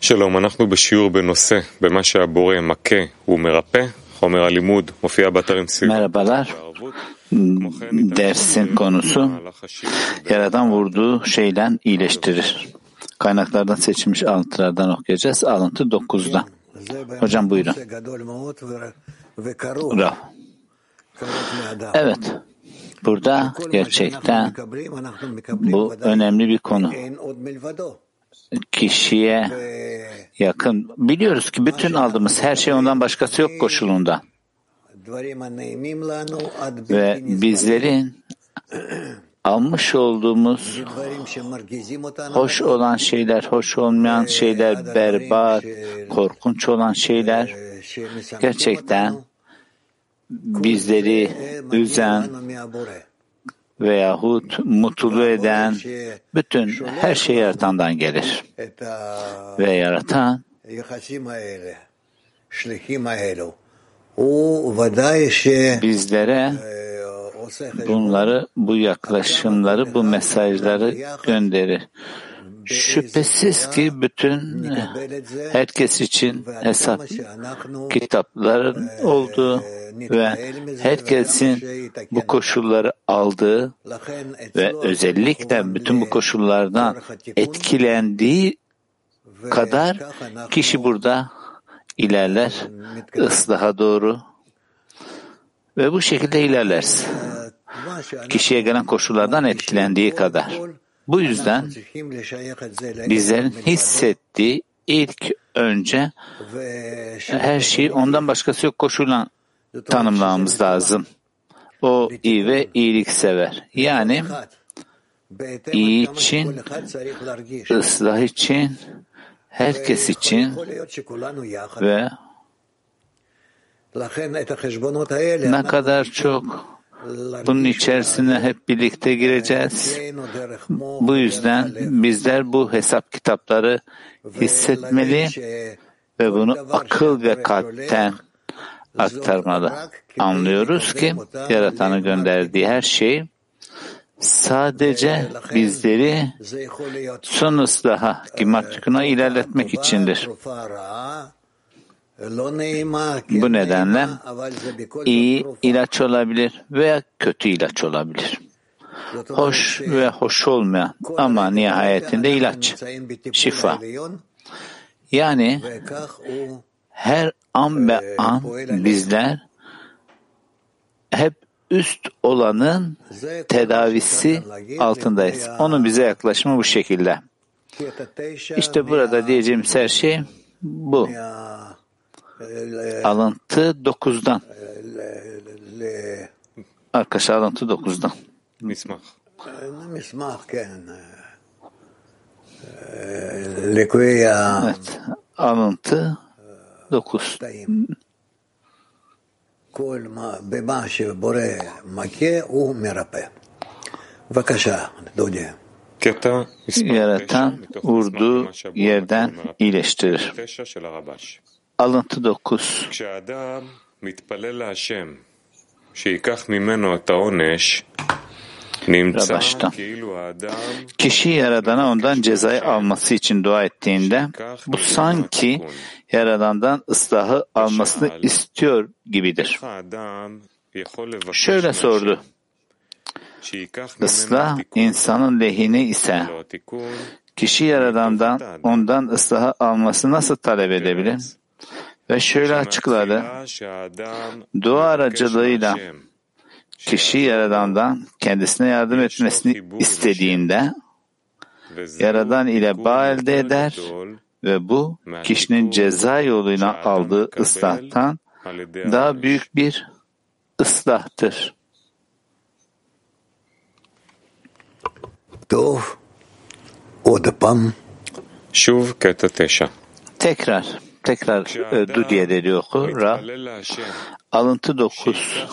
שלום, אנחנו בשיעור בנושא במה שהבורא מכה ומרפא, חומר הלימוד מופיע באתרים Merhabalar. Dersin konusu Yaradan vurduğu şeyden iyileştirir. Kaynaklardan seçilmiş alıntılardan okuyacağız. Alıntı 9'da. Hocam buyurun. Bravo. Evet. Burada gerçekten bu önemli bir konu. Kişiye yakın. Biliyoruz ki bütün aldığımız her şey ondan başkası yok koşulunda. Ve bizlerin almış olduğumuz hoş olan şeyler, hoş olmayan şeyler, berbat, korkunç olan şeyler gerçekten bizleri üzen veyahut mutlu eden bütün her şey yaratandan gelir. Ve yaratan bizlere bunları, bu yaklaşımları, bu mesajları gönderir. Şüphesiz ki bütün herkes için hesap kitapların olduğu ve herkesin bu koşulları aldığı ve özellikle bütün bu koşullardan etkilendiği kadar kişi burada ilerler, ıslaha doğru ve bu şekilde ilerlersin. Kişiye gelen koşullardan etkilendiği kadar. Bu yüzden bizlerin hissettiği ilk önce her şeyi ondan başkası yok koşullan tanımlamamız lazım. O iyi ve iyilik sever. Yani iyi için, ıslah için, herkes için ve ne kadar çok bunun içerisine hep birlikte gireceğiz. Bu yüzden bizler bu hesap kitapları hissetmeli ve bunu akıl ve kalpten aktarmalı. Anlıyoruz ki Yaratan'ı gönderdiği her şey sadece bizleri son ıslaha, gimatikuna ilerletmek içindir. Bu nedenle iyi ilaç olabilir veya kötü ilaç olabilir. Hoş ve hoş olmayan ama nihayetinde ilaç, şifa. Yani her an ve an bizler hep üst olanın tedavisi altındayız. Onun bize yaklaşımı bu şekilde. İşte burada diyeceğimiz her şey bu. Alıntı 9'dan. Arkadaşlar alıntı 9'dan. מסמך. Evet. Alıntı 9. Yaratan vurduğu yerden iyileştirir. Alıntı 9. Baştan. Kişi Yaradan'a ondan cezayı alması için dua ettiğinde bu sanki Yaradan'dan ıslahı almasını istiyor gibidir. Şöyle sordu. Islah insanın lehine ise kişi Yaradan'dan ondan ıslahı alması nasıl talep edebilir? Ve şöyle açıkladı. Dua aracılığıyla kişi Yaradan'dan kendisine yardım etmesini istediğinde Yaradan ile bağ elde eder ve bu kişinin ceza yoluyla aldığı ıslahtan daha büyük bir ıslahtır. Tekrar Dudiye dedi oku. Alıntı 9.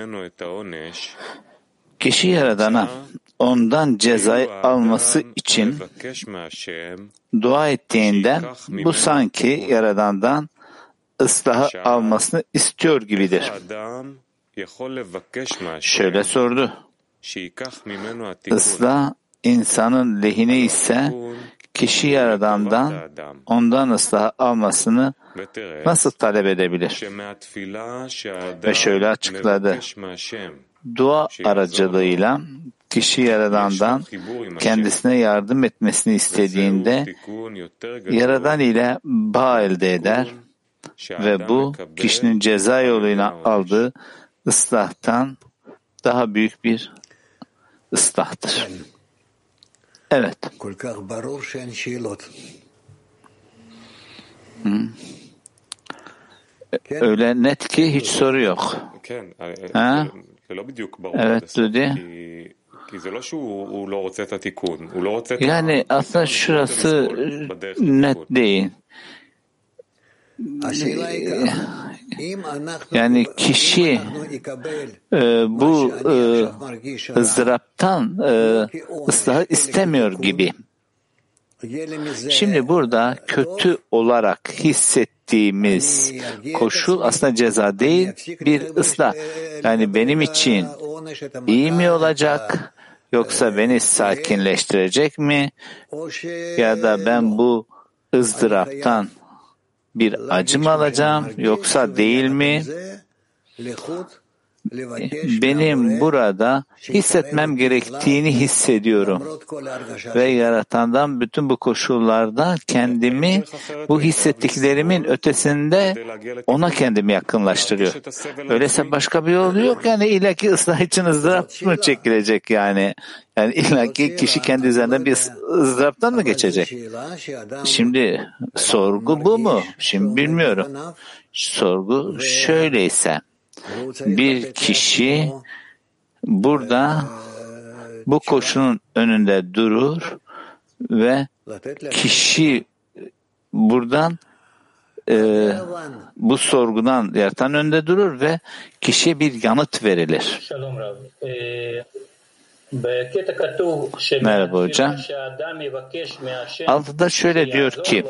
Kişi Yaradan'a ondan cezayı alması için dua ettiğinde bu sanki Yaradan'dan ıslahı almasını istiyor gibidir. Şöyle sordu. Islah insanın lehine ise kişi Yaradan'dan ondan ıslah almasını nasıl talep edebilir? Ve şöyle açıkladı. Dua aracılığıyla kişi Yaradan'dan kendisine yardım etmesini istediğinde Yaradan ile bağ elde eder ve bu kişinin ceza yoluyla aldığı ıslahtan daha büyük bir ıslahtır. Evet. Öyle net ki hiç soru yok. Ha? Evet Dudi. Yani aslında şurası net değil. Yani kişi bu ızdıraptan ıslahı istemiyor gibi. Şimdi burada kötü olarak hissettiğimiz koşul aslında ceza değil, bir ıslah. Yani benim için iyi mi olacak, yoksa beni sakinleştirecek mi, ya da ben bu ızdıraptan bir acı mı alacağım, yoksa değil mi? Benim burada hissetmem gerektiğini hissediyorum ve Yaratan'dan bütün bu koşullarda kendimi bu hissettiklerimin ötesinde ona kendimi yakınlaştırıyor. Öyleyse başka bir yolu yok, yani illaki ıslah için ızdırap mı çekilecek yani? Yani illaki kişi kendi üzerinden bir ızdıraptan mı geçecek? Şimdi sorgu bu mu? Şimdi bilmiyorum. Sorgu şöyleyse, bir kişi burada bu koşulun önünde durur ve kişi buradan bu sorgudan Yaratan önünde durur ve kişiye bir yanıt verilir. Merhaba hocam. Altıda şöyle diyor ki,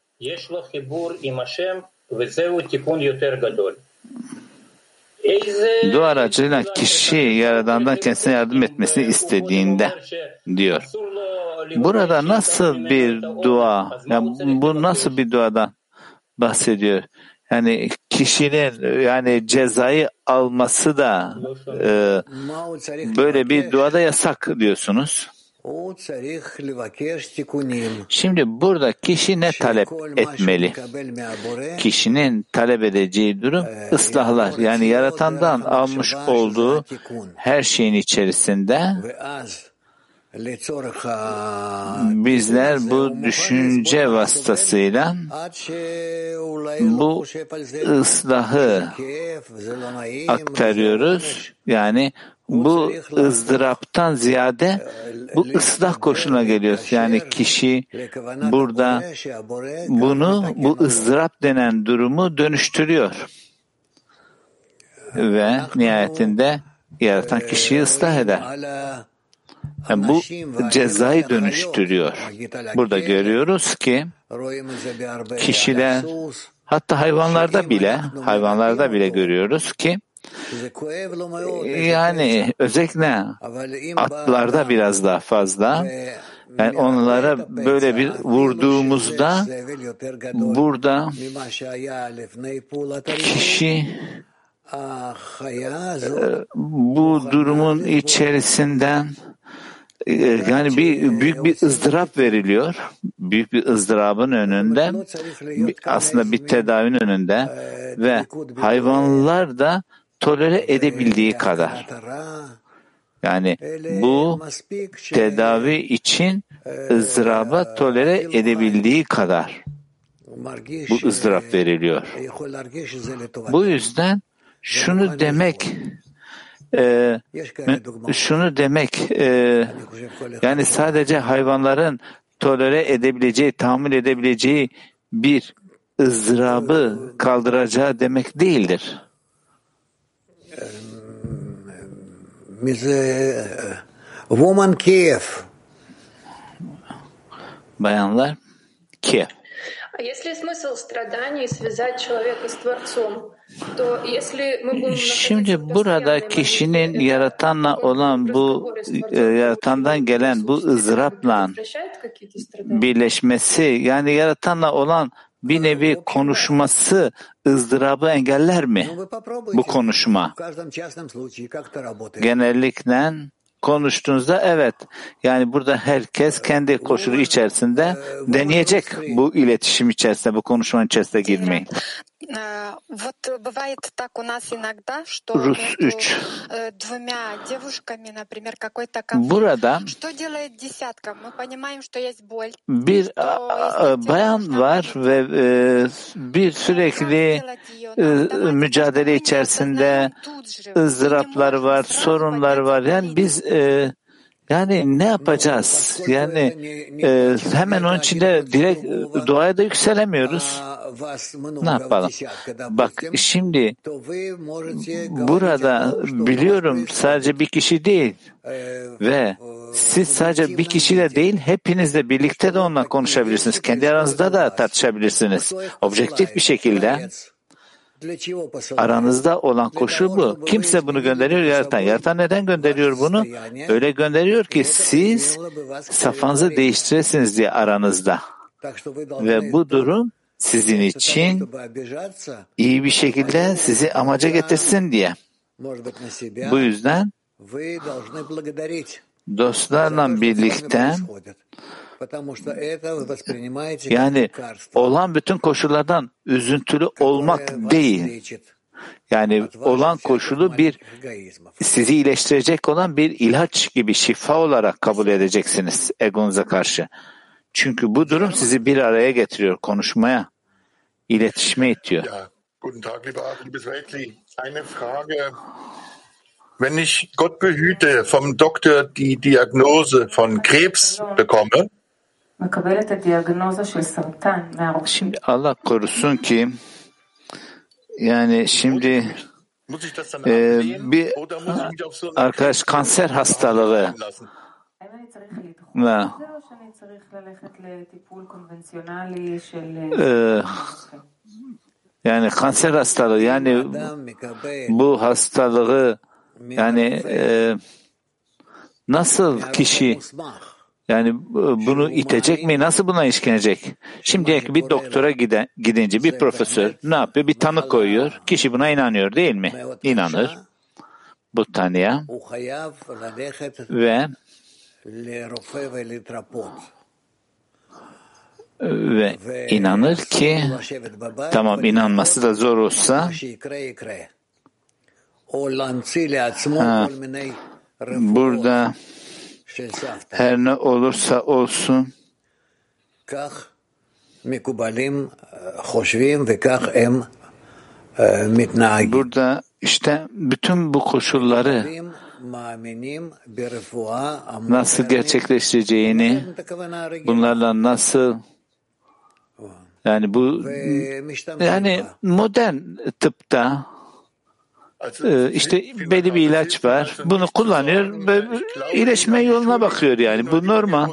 dua aracılığıyla kişi Yaradan'dan kendisine yardım etmesini istediğinde diyor. Burada nasıl bir dua, yani bu nasıl bir duadan bahsediyor? Yani kişinin yani cezayı alması da böyle bir duada yasak diyorsunuz. Şimdi burada kişi ne talep etmeli? Kişinin talep edeceği durum ıslahlar. Yani Yaratan'dan almış olduğu her şeyin içerisinde bizler bu düşünce vasıtasıyla bu ıslahı aktarıyoruz. Yani bu ızdıraptan ziyade bu ıslah koşuluna geliyoruz. Yani kişi burada bu ızdırap denen durumu dönüştürüyor. Ve nihayetinde Yaratan kişiyi ıslah eder. Yani bu cezayı dönüştürüyor. Burada görüyoruz ki kişiler, hatta hayvanlarda bile görüyoruz ki yani özellikle atlarda biraz daha fazla, yani onlara böyle bir vurduğumuzda burada kişi bu durumun içerisinden yani büyük bir ızdırap veriliyor. Büyük bir ızdırabın önünde, aslında bir tedavinin önünde ve hayvanlar da tolere edebildiği kadar. Yani bu tedavi için ızdıraba tolere edebildiği kadar bu ızdırap veriliyor. Bu yüzden şunu demek yani sadece hayvanların tolere edebileceği, tahammül edebileceği bir ızdırabı kaldıracağı demek değildir. Bayanlar, Kiev. Şimdi burada kişinin yaratanla olan bu yaratandan gelen bu ızdırapla birleşmesi, yani yaratanla olan bir nevi konuşması ızdırabı engeller mi? Bu konuşma. Genellikle konuştuğunuzda evet. Yani burada herkes kendi koşulu içerisinde deneyecek bu iletişim içerisinde, bu konuşmanın içerisinde girmeyi. Rus 3. Burada bir bayan var ve bir sürekli mücadele içerisinde ızdıraplar var, sorunlar var. Yani biz yani ne yapacağız? Yani hemen onun içinde direkt duaya da yükselemiyoruz. Ne yapalım? Bak şimdi burada biliyorum sadece bir kişi değil ve siz sadece bir kişiyle değil hepinizle birlikte de onunla konuşabilirsiniz. Kendi aranızda da tartışabilirsiniz. Objektif bir şekilde. Aranızda olan koşu bu. Kimse bunu gönderiyor yaratan. Yaratan neden gönderiyor bunu? Öyle gönderiyor ki siz safhanızı değiştiresiniz diye aranızda. Ve bu durum sizin için iyi bir şekilde sizi amaca getirsin diye. Bu yüzden dostlarla birlikte yani olan bütün koşullardan üzüntülü olmak değil. Yani olan koşulu bir sizi iyileştirecek olan bir ilaç gibi şifa olarak kabul edeceksiniz egonuza karşı. Çünkü bu durum sizi bir araya getiriyor, konuşmaya, iletişime itiyor. Ja, guten Tag, liebes Weltli. Eine Frage. Wenn ich Gott behüte vom Doktor die Diagnose von Krebs bekomme, şimdi Allah korusun ki yani şimdi bir arkadaş kanser hastalığı yani kanser hastalığı yani bu hastalığı yani nasıl kişi yani bunu itecek mi? Nasıl buna işkenecek? Şimdi bir doktora gidince bir profesör ne yapıyor? Bir tanı koyuyor. Kişi buna inanıyor değil mi? İnanır. Bu tanıya. Ve inanır ki tamam inanması da zor olsa burada her ne olursa olsun burada işte bütün bu koşulları nasıl gerçekleştireceğini, bunlarla nasıl yani bu yani modern tıpta işte belli bir ilaç var. Bunu kullanıyor ve iyileşme yoluna bakıyor yani. Bu normal.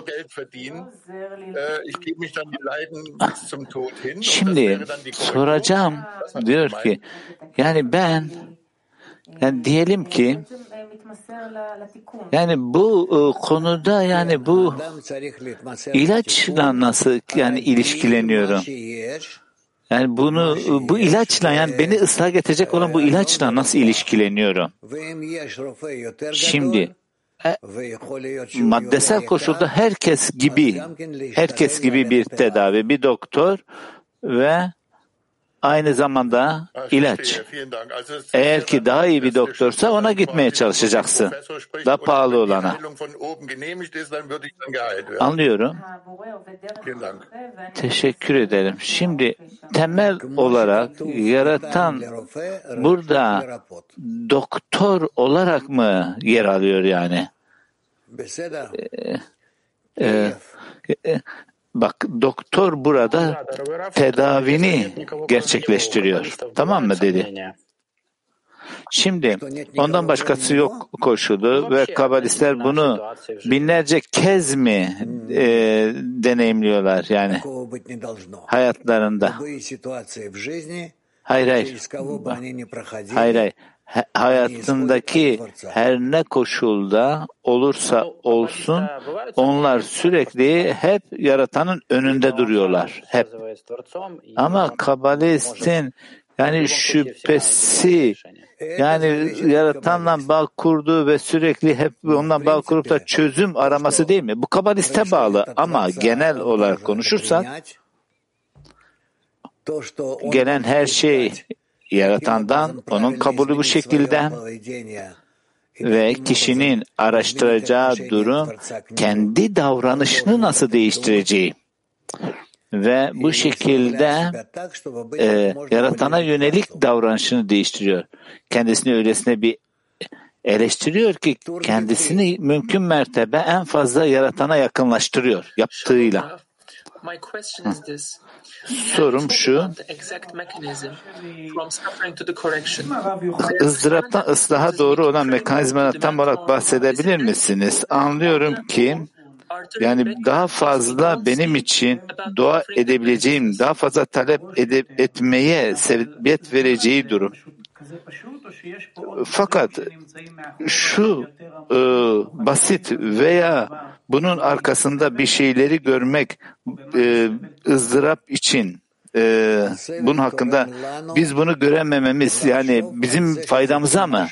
Şimdi soracağım diyor ki yani ben yani diyelim ki yani bu konuda yani bu ilaçla nasıl yani ilişkileniyorum? Yani bunu bu ilaçla yani beni ıslah getirecek olan bu ilaçla nasıl ilişkileniyorum? Şimdi maddesel koşulda herkes gibi bir tedavi, bir doktor ve aynı zamanda ilaç. Eğer ki daha iyi bir doktorsa ona gitmeye çalışacaksın. Daha pahalı olana. Anlıyorum. Teşekkür ederim. Şimdi temel olarak yaratan burada doktor olarak mı yer alıyor yani? Bak doktor burada tedavini gerçekleştiriyor. Tamam mı dedi? Şimdi ondan başkası yok koşulu ve kabalistler bunu binlerce kez mi deneyimliyorlar yani hayatlarında? Hayır. Hayır. Hayatındaki her ne koşulda olursa olsun onlar sürekli hep yaratanın önünde duruyorlar. Hep. Ama kabalistin yani şüphesi yani yaratanla bağ kurduğu ve sürekli hep ondan bağ kurup da çözüm araması değil mi? Bu kabaliste bağlı ama genel olarak konuşursak gelen her şey yaratandan, onun kabulü bu şekilde ve kişinin araştıracağı durum kendi davranışını nasıl değiştireceği ve bu şekilde yaratana yönelik davranışını değiştiriyor. Kendisini öylesine bir eleştiriyor ki kendisini mümkün mertebe en fazla yaratana yakınlaştırıyor yaptığıyla. Sorum şu, ızdıraptan ıslaha doğru olan mekanizmadan tam olarak bahsedebilir misiniz? Anlıyorum ki yani daha fazla benim için dua edebileceğim, daha fazla talep etmeye sebebiyet vereceği durum. Fakat şu basit veya bunun arkasında bir şeyleri görmek ızdırap için bunun hakkında biz bunu göremememiz yani bizim faydamıza mı?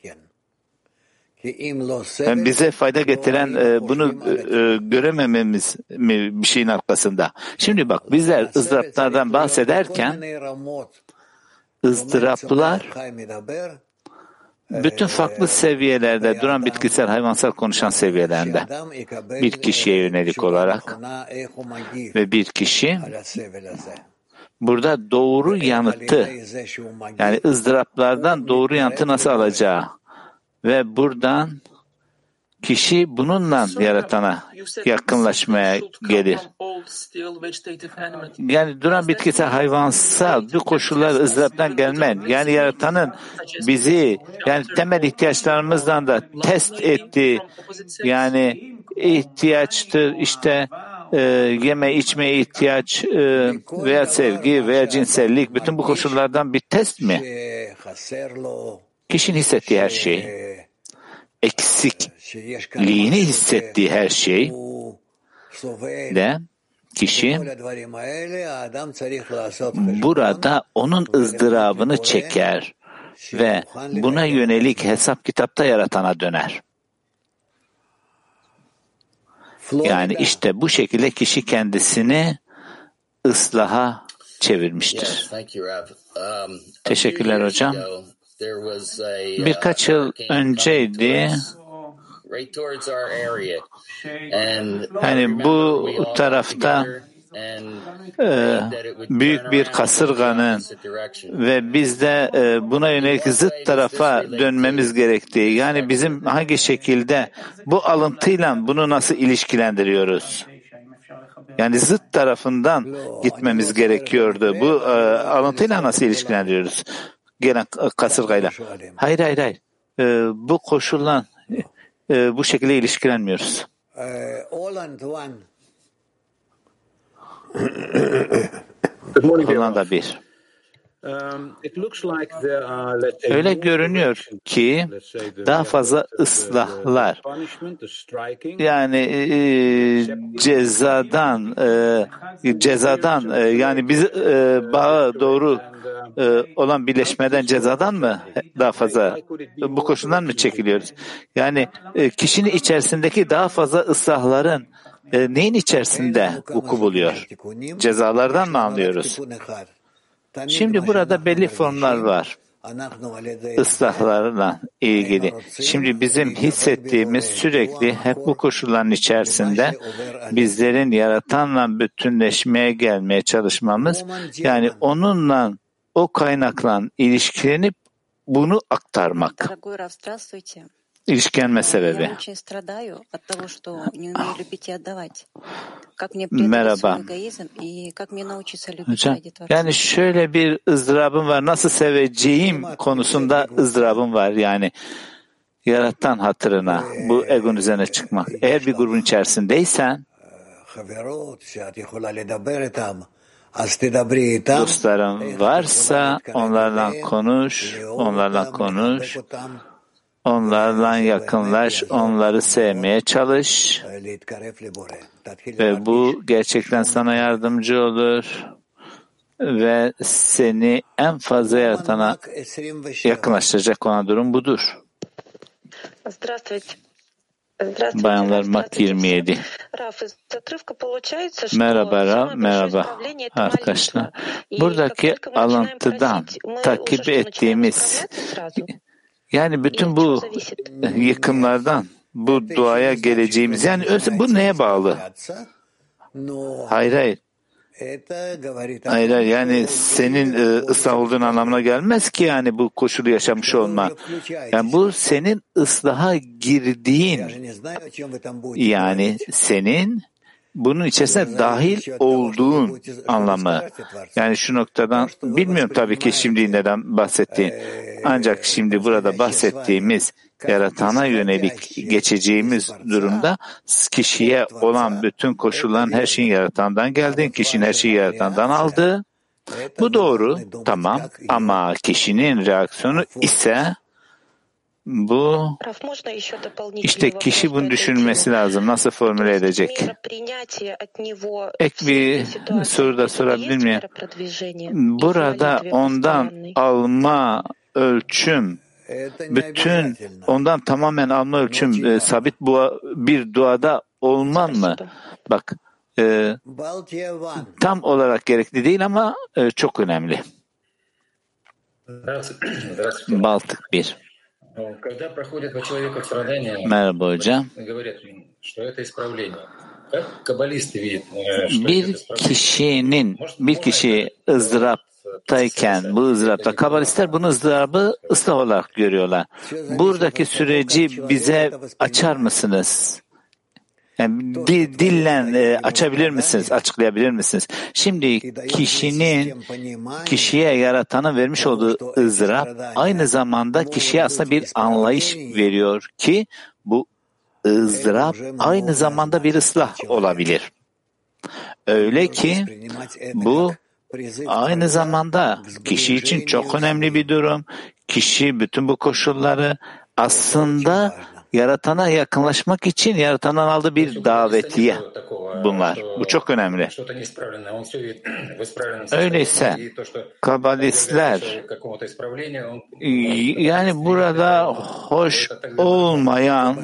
Yani bize fayda getiren bunu göremememiz mi bir şeyin arkasında? Şimdi bak bizler ızdıraplardan bahsederken ızdıraplar bütün farklı seviyelerde duran bitkisel, hayvansal konuşan seviyelerinde bir kişiye yönelik olarak ve bir kişi burada doğru yanıtı yani ızdıraplardan doğru yanıtı nasıl alacağı ve buradan kişi bununla yaratana yakınlaşmaya gelir. Yani duran bitkisel, hayvansal bu koşullar ızdıraptan gelmen. Yani yaratanın bizi yani temel ihtiyaçlarımızdan da test ettiği yani ihtiyaçtır işte yeme içmeye ihtiyaç veya sevgi veya cinsellik bütün bu koşullardan bir test mi? Kişinin hissettiği her şey, eksikliğini hissettiği her şey de kişi burada onun ızdırabını çeker ve buna yönelik hesap kitapta yaratana döner. Yani işte bu şekilde kişi kendisini ıslaha çevirmiştir. Teşekkürler hocam. Birkaç yıl önceydi yani bu tarafta büyük bir kasırganın ve biz de buna yönelik zıt tarafa dönmemiz gerektiği yani bizim hangi şekilde bu alıntıyla bunu nasıl ilişkilendiriyoruz? Yani zıt tarafından gitmemiz gerekiyordu. Bu alıntıyla nasıl ilişkilendiriyoruz? Gelen kasırgayla. Hayır. Bu koşulla bu şekilde ilişkilenmiyoruz. Hollanda 1. Öyle görünüyor ki daha fazla ıslahlar yani cezadan yani biz bağa doğru olan birleşmeden cezadan mı daha fazla bu koşuldan mı çekiliyoruz? Yani kişinin içerisindeki daha fazla ıslahların neyin içerisinde vuku buluyor? Cezalardan mı anlıyoruz? Şimdi burada belli formlar var. Islahlarla ilgili. Şimdi bizim hissettiğimiz sürekli hep bu koşulların içerisinde bizlerin yaratanla bütünleşmeye gelmeye çalışmamız yani onunla o kaynakla ilişkilenip bunu aktarmak. ilişkilenme sebebi. Merhaba. Hocam, yani şöyle bir ızdırabım var. Nasıl seveceğim konusunda ızdırabım var. Yani yaratan hatırına bu egon üzerine çıkmak. Eğer bir grubun içerisindeysen dostların varsa onlarla konuş, onlarla yakınlaş, onları sevmeye çalış ve bu gerçekten sana yardımcı olur ve seni en fazla yaratana yakınlaştıracak olan durum budur. Bayanlar Mak 27. Merhaba arkadaşlar. Buradaki alıntıdan takip ettiğimiz, yani bütün bu yıkımlardan bu duaya geleceğimiz, yani bu neye bağlı? Hayır. Yani senin ıslah olduğun anlamına gelmez ki yani bu koşulu yaşamış olma. Yani bu senin ıslaha girdiğin, yani senin bunun içerisine dahil olduğun anlamı. Yani şu noktadan bilmiyorum tabii ki şimdi neden bahsettiğin. Ancak şimdi burada bahsettiğimiz yaratana yönelik geçeceğimiz durumda kişiye olan bütün koşulların her şeyin yaratandan geldiği, kişinin her şeyi yaratandan aldığı. Bu doğru, tamam, ama kişinin reaksiyonu ise bu, işte kişi bunu düşünmesi lazım. Nasıl formüle edecek? Ek bir soru da sorabilir miyim? Burada ondan alma ölçüm, bütün ondan tamamen alma ölçüm sabit bir duada olmam mı? Bak, tam olarak gerekli değil ama çok önemli. Baltık 1. Merhaba hocam. Bir kişi ızdıraptayken, bu ızdırapta kabalistler bunu ızdırabı ıslah olarak görüyorlar. Buradaki süreci bize açar mısınız? Yani dille açabilir misiniz, açıklayabilir misiniz? Şimdi kişiye yaratanın vermiş olduğu ızdırap aynı zamanda kişiye aslında bir anlayış veriyor ki bu ızdırap aynı zamanda bir ıslah olabilir. Öyle ki bu aynı zamanda kişi için çok önemli bir durum. Kişi bütün bu koşulları aslında yaratana yakınlaşmak için yaratandan aldığı bir davetiye bunlar. Bu çok önemli. Öyleyse kabalistler, yani burada hoş olmayan,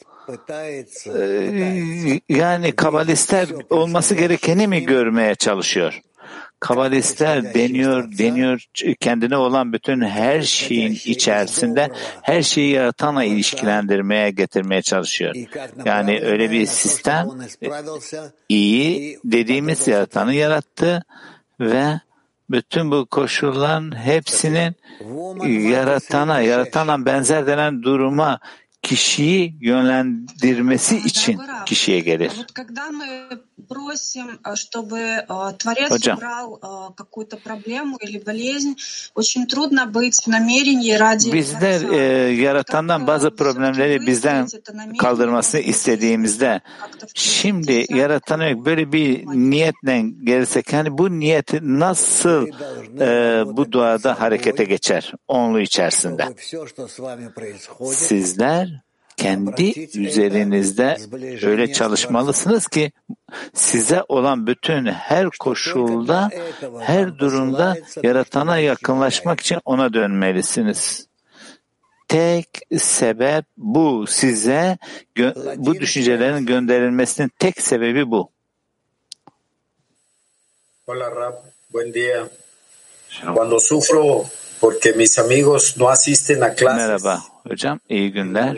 yani kabalistler olması gerekeni mi görmeye çalışıyor? Kabalistler deniyor kendine olan bütün her şeyin içerisinde her şeyi yaratanla ilişkilendirmeye, getirmeye çalışıyor. Yani öyle bir sistem, iyi dediğimiz yaratanı yarattı ve bütün bu koşulların hepsinin yaratana benzer denen duruma kişiyi yönlendirmesi için kişiye gelir. Hocam, bizler yaratandan bazı problemleri bizden kaldırmasını istediğimizde, şimdi yaratana böyle bir niyetle gelirsek, yani bu niyeti nasıl bu duada harekete geçer onlu içerisinde? Sizler kendi üzerinizde öyle çalışmalısınız ki size olan bütün her koşulda, her durumda yaratana yakınlaşmak için ona dönmelisiniz. Tek sebep bu. Size bu düşüncelerin gönderilmesinin tek sebebi bu. Hola Rab, buen día. Cuando sufro porque mis amigos no asisten a clases. Merhaba hocam, iyi günler.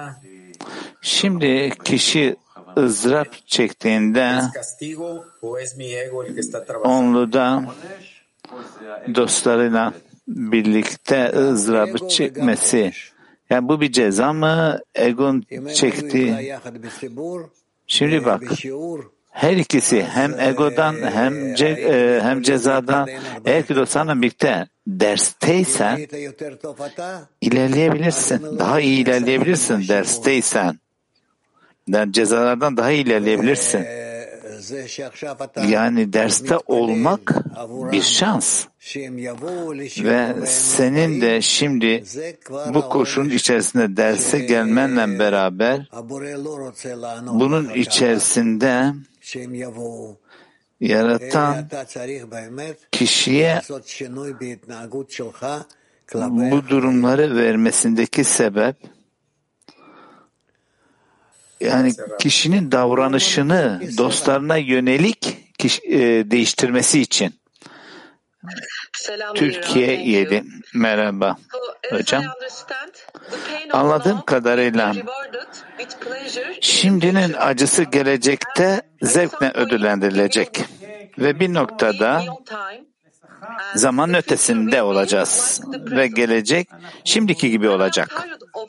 Şimdi kişi ızdırap çektiğinde onluda dostlarıyla birlikte ızdırabı çekmesi, Yani bu bir ceza mı? Egon çekti. Şimdi bak. Her ikisi hem egodan hem cezadan. Eğer ki dostlarla birlikte dersteysen ilerleyebilirsin. Daha iyi ilerleyebilirsin dersteysen. Yani cezalardan daha iyi ilerleyebilirsin. Yani derste olmak bir şans. Ve senin de şimdi bu koşulun içerisinde derse gelmenle beraber bunun içerisinde yaratan kişiye bu durumları vermesindeki sebep yani kişinin davranışını dostlarına yönelik değiştirmesi için. Türkiye 7. Merhaba hocam. Anladığım kadarıyla şimdinin acısı gelecekte zevkle ödüllendirilecek ve bir noktada zaman ötesinde olacağız ve gelecek şimdiki gibi olacak.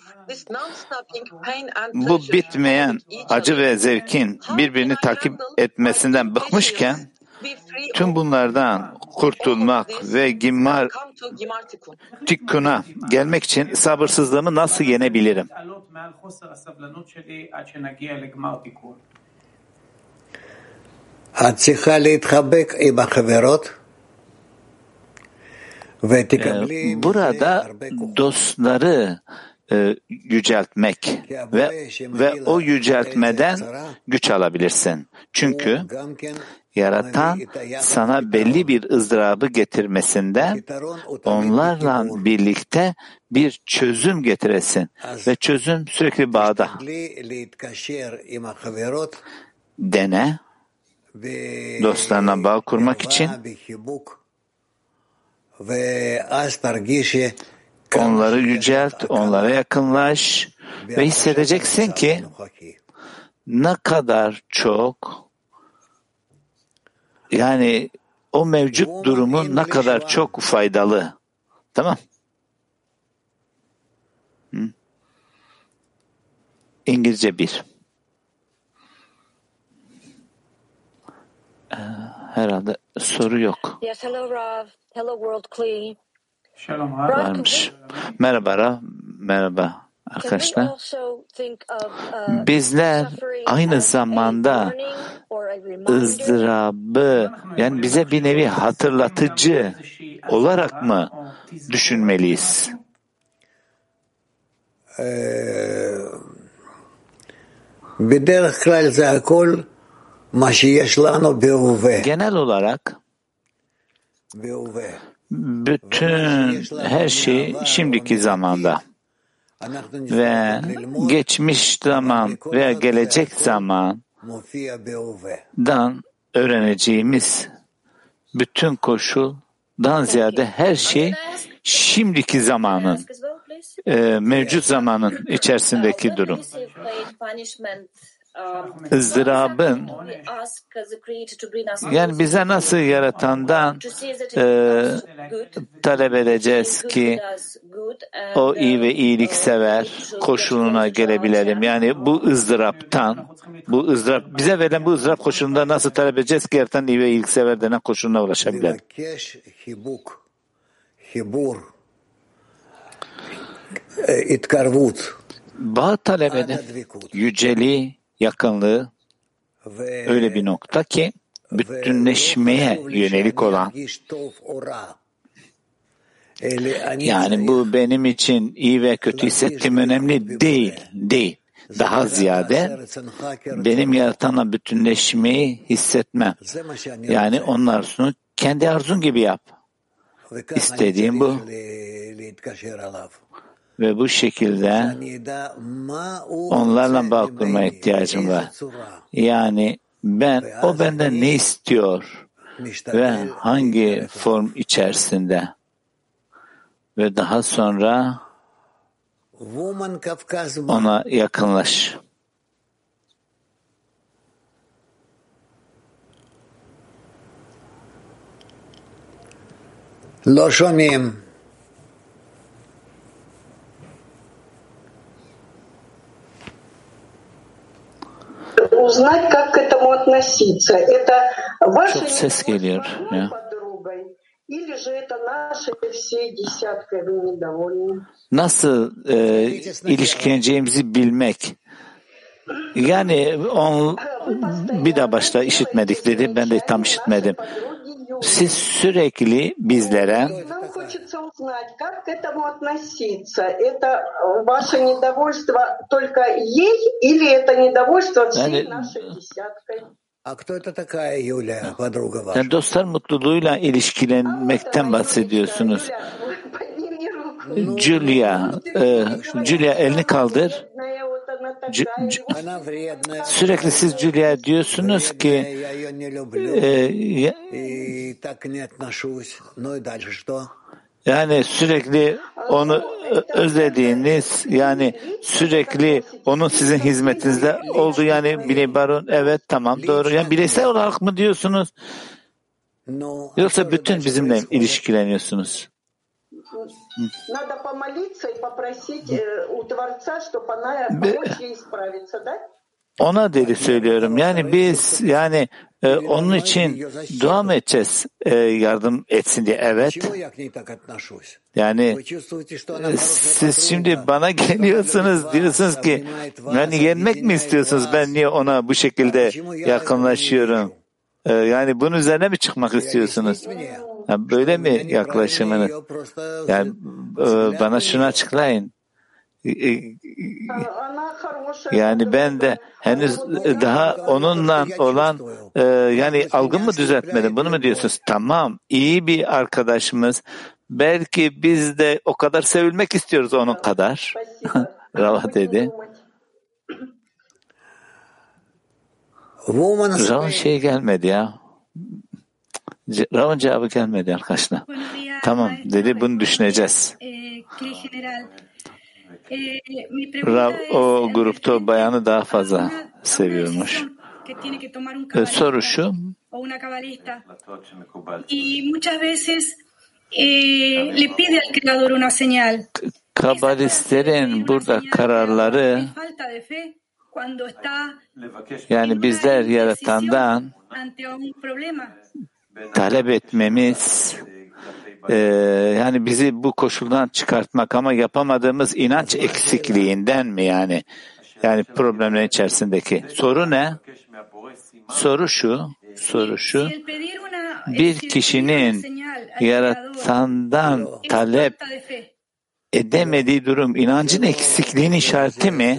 Bu bitmeyen acı ve zevkin birbirini takip etmesinden bıkmışken tüm bunlardan kurtulmak ve Gimmar Tikkun'a gelmek için sabırsızlığımı nasıl yenebilirim? Burada dostları yüceltmek ve o yüceltmeden güç alabilirsin. Çünkü yaratan sana belli bir ızdırabı getirmesinden onlarla birlikte bir çözüm getiresin. Ve çözüm sürekli bağda. Dene, dostlarına bağ kurmak için onları yücelt, onlara yakınlaş ve hissedeceksin ki ne kadar çok yani o mevcut durumun ne kadar çok faydalı. Tamam. İngilizce 1. Herhalde soru yok. Yes, hello Rav. Hello World Kli. Varmış. Merhaba Rav. Merhaba arkadaşlar. Bizler aynı zamanda ızdırabı yani bize bir nevi hatırlatıcı olarak mı düşünmeliyiz? Genel olarak bütün her şey şimdiki zamanda ve geçmiş zaman veya gelecek zamandan öğreneceğimiz bütün koşuldan ziyade her şey şimdiki zamanın, mevcut zamanın içerisindeki durum. ızdırabın yani bize nasıl yaratandan talep edeceğiz ki o iyi ve iyiliksever koşuluna gelebilelim. Yani bu ızdıraptan, bize verilen bu ızdırap koşulunda nasıl talep edeceğiz ki yaratan iyi ve iyiliksever denen koşuluna ulaşabilelim. Bağ talep edin, yüceliği, yakınlığı öyle bir nokta ki bütünleşmeye yönelik olan yani bu benim için iyi ve kötü hissettiğim önemli değil. Daha ziyade benim yaratanla bütünleşmeyi hissetmem. Yani onun arzusunu kendi arzun gibi yap. İstediğim bu. Ve bu şekilde onlarla bağ kurmaya ihtiyacım var. Yani o benden ne istiyor ve hangi form içerisinde ve daha sonra ona yakınlaş. לא שומעים. узнать, как к этому относиться. Это ваша Çok ses geliyor ya. подругой, или же это нашей всей десяткой вы недовольны? Nasıl ilişkileneceğimizi bilmek. Yani bir daha başta işitmedik dedi. Ben de tam işitmedim. Siz sürekli bizlere Нам хочется узнать, как к этому относиться. Это ваше недовольство только ей, или это недовольство всей нашей десяткой? А кто это такая Юлия, подруга ваша? yani dostlar mutluluğuyla ilişkilenmekten bahsediyorsunuz. Julia elini kaldır. Она вредная. Sürekli siz Julia diyorsunuz ki Я ее не люблю. И так не отношусь. Ну и дальше что? yani sürekli onu özlediğiniz, yani sürekli onun sizin hizmetinizde olduğu, yani Baron, evet tamam doğru. Yani bireysel olarak mı diyorsunuz? Yoksa bütün bizimle ilişkileniyorsunuz? Надо помолиться и попросить у Творца, чтобы она помочь ей исправиться, да? Ona dedi söylüyorum. Yani biz onun için dua mı edeceğiz yardım etsin diye? Evet. Yani siz şimdi bana geliyorsunuz, diyorsunuz ki yani yenmek mi istiyorsunuz? Ben niye ona bu şekilde yakınlaşıyorum? Yani bunun üzerine mi çıkmak istiyorsunuz? Yani böyle mi yaklaşımınız? Yani bana şunu açıklayın. Yani ben de henüz daha onunla olan yani algımı düzeltmedim. Bunu mu diyorsunuz? Tamam, iyi bir arkadaşımız. Belki biz de o kadar sevilmek istiyoruz onun kadar. Rava dedi. Rav'ın şey gelmedi ya. Rav'ın cevabı gelmedi arkadaşlar. Tamam dedi, bunu düşüneceğiz. Rav o grupta o bayanı daha fazla seviyormuş. Soru şu. Kabalistlerin burada kararları, yani bizler yaratandan talep etmemiz, yani bizi bu koşuldan çıkartmak, ama yapamadığımız inanç eksikliğinden mi yani? Yani problemlerin içerisindeki. Soru ne? Soru şu. Bir kişinin yaratandan talep edemediği durum inancın eksikliğinin işareti mi?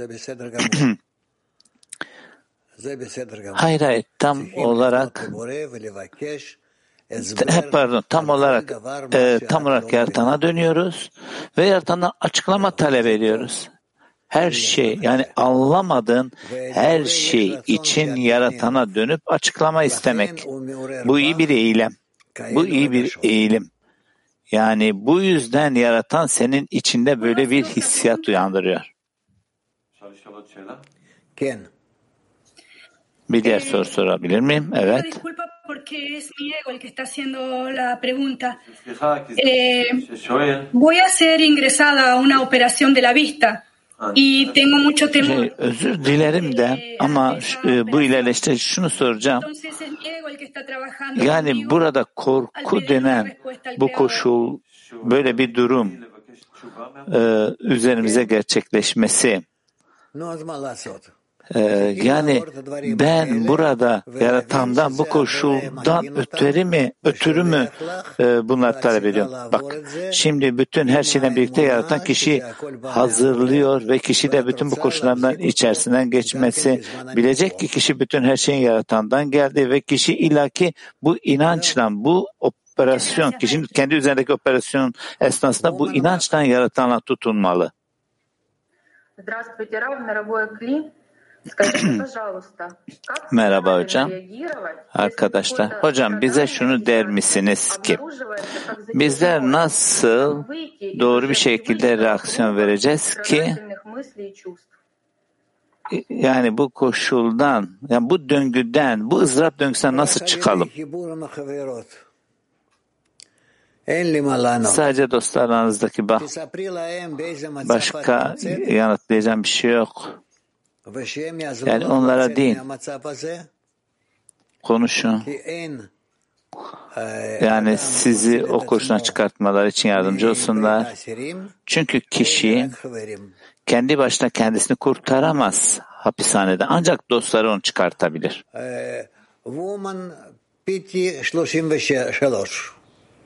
Hayır, tam olarak tam olarak yaratana dönüyoruz ve yaratandan açıklama talep ediyoruz. Her şey, yani anlamadığın her şey için yaratana dönüp açıklama istemek. Bu iyi bir eğilim. Yani bu yüzden yaratan senin içinde böyle bir hissiyat uyandırıyor. Bir diğer soru sorabilir miyim? Evet. Voy a ser ingresada a una operación de la vista y tengo mucho temor. Özür dilerim de ama bu ilerleşte şunu soracağım. Yani burada korku denen bu koşul, böyle bir durum üzerimize gerçekleşmesi. Yani ben burada yaratandan bu koşuldan ötürü mü bunlar talep ediyorum? Bak, şimdi bütün her şeyden birlikte yaratan kişi hazırlıyor ve kişi de bütün bu koşullardan içerisinden geçmesi bilecek ki kişi bütün her şeyin yaratandan geldi ve kişi illaki bu inançla, bu operasyon, kişinin kendi üzerindeki operasyon esnasında bu inançtan yaratanla tutunmalı. Merhaba hocam. Arkadaşlar, hocam bize şunu der misiniz ki bizler nasıl doğru bir şekilde reaksiyon vereceğiz ki yani bu koşuldan, yani bu döngüden, bu ızdırap döngüsünden nasıl çıkalım? Sadece dostlar aranızdaki başka yanıtlayacağım bir şey yok. Yani onlara değil, konuşun. Yani sizi o koşuna çıkartmaları için yardımcı olsunlar. Çünkü kişi kendi başına kendisini kurtaramaz hapishaneden. Ancak dostları onu çıkartabilir. Woman PT 33.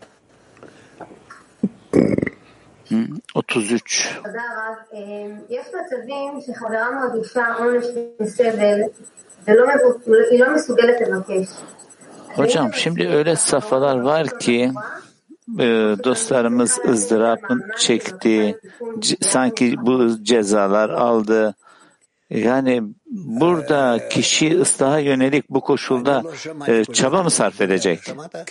33. יש מצבים שחברה מרגישה עונש וסבל והיא לא מסוגלת לבקש. Hocam şimdi öyle safhalar var ki dostlarımız ızdırapın çekti, sanki bu cezalar aldı. Yani burada kişi ıslaha yönelik bu koşulda çaba mı sarf edecek?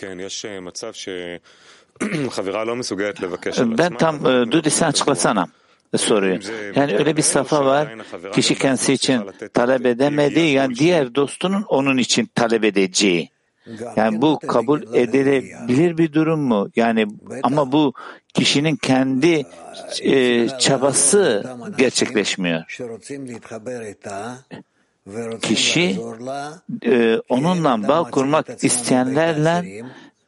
Ben tam Dudi sen açıklasana soruyu. Yani öyle bir safa var, kişi kendisi için talep edemedi, yani diğer dostunun onun için talep edeceği. Yani bu kabul edilebilir bir durum mu? Yani ama bu kişinin kendi çabası gerçekleşmiyor. Kişi onunla bağ kurmak isteyenlerle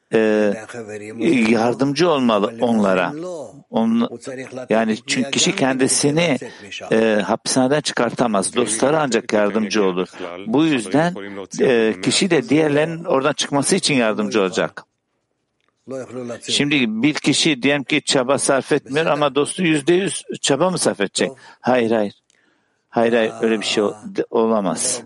yardımcı olmalı onlara. Yani çünkü kişi kendisini hapishaneden çıkartamaz. Dostları ancak yardımcı olur. Bu yüzden kişi de diğerlerinin oradan çıkması için yardımcı olacak. Şimdi bir kişi diyelim ki çaba sarf etmiyor ama dostu %100 çaba mı sarf edecek? Hayır. Hayır, öyle bir şey olamaz.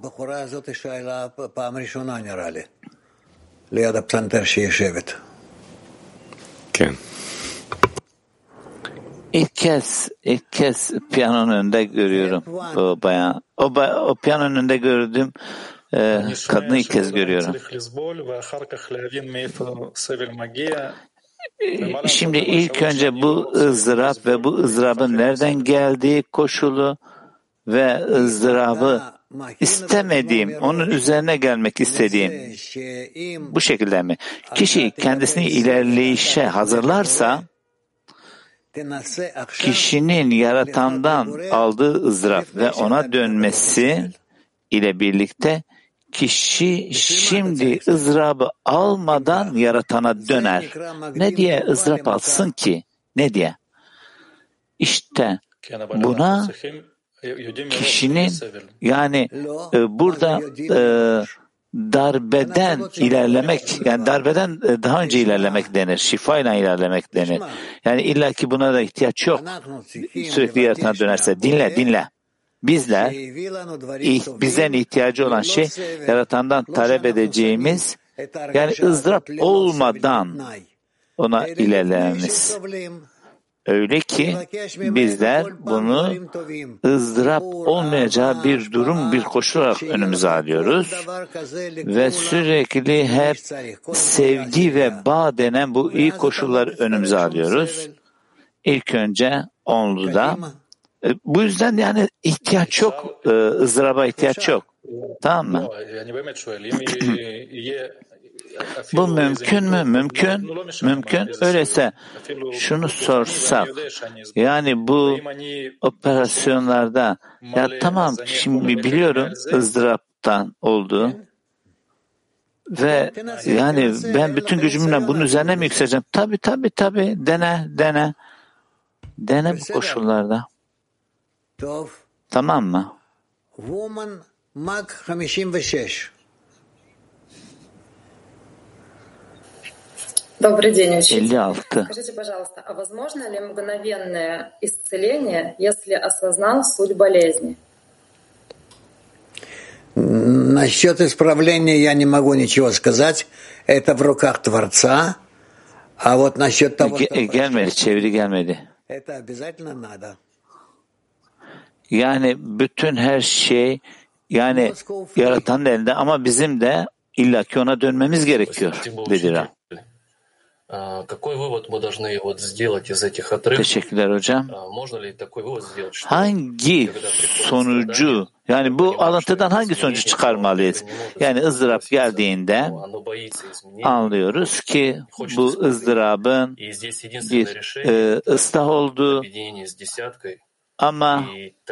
İlk kez piyanonun önünde görüyorum o bayan. O piyanonun önünde gördüğüm kadını ilk kez görüyorum. Şimdi ilk önce bu ızdırap ve bu ızdırabın nereden geldiği koşulu ve ızdırabı istemediğim, onun üzerine gelmek istediğim bu şekilde mi? Kişi kendisini ilerleyişe hazırlarsa kişinin yaratandan aldığı ızdırap ve ona dönmesi ile birlikte kişi şimdi ızdırabı almadan yaratana döner. Ne diye ızdırap alsın ki? Ne diye? İşte buna kişinin yani burada darbeden ilerlemek, yani darbeden daha önce ilerlemek denir, şifayla ilerlemek denir. Yani illaki buna da ihtiyaç yok. Sürekli yaratana dönerse dinle. Bizden ihtiyacı olan şey yaratandan talep edeceğimiz, yani ızdırap olmadan ona ilerlememiz. Öyle ki bizler bunu ızdırap olmayacağı bir durum, bir koşul olarak önümüze alıyoruz ve sürekli hep sevgi ve bağ denen bu iyi koşulları önümüze alıyoruz. İlk önce onluda. Bu yüzden yani ihtiyaç yok, ızdıraba ihtiyaç yok. Tamam mı? Bu mümkün mü? Mümkün. Öyleyse şunu sorsak, yani bu operasyonlarda, ya tamam şimdi biliyorum ızdıraptan oldu ve yani ben bütün gücümle bunun üzerine mi yükseleceğim? Tabii. Dene bu koşullarda. Tamam mı? Woman Mag 56. Добрый день, учитель. 56. Скажите, пожалуйста, а возможно ли мгновенное исцеление, если осознал суть болезни? Насчет исправления я не могу ничего сказать. Это в руках Творца. А вот насчет того, что çeviri gelmedi. Это обязательно надо. Yani bütün her şey yani yaratanın elinde ama bizim de illaki ona dönmemiz gerekiyor dediler. Teşekkürler hocam. Hangi sonucu, yani bu alıntıdan hangi sonucu çıkarmalıyız? Yani ızdırap geldiğinde anlıyoruz ki bu ızdırabın bir ıslah olduğu Ama